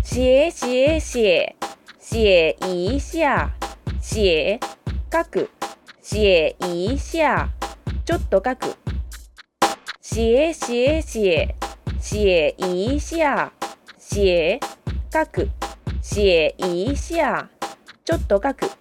写写写，写一下，写書く、写一下、ちょっと書く。写写写，写一下，写書く、写一下、ちょっと書く。